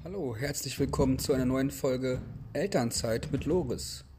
Hallo, herzlich willkommen zu einer neuen Folge Elternzeit mit Loris.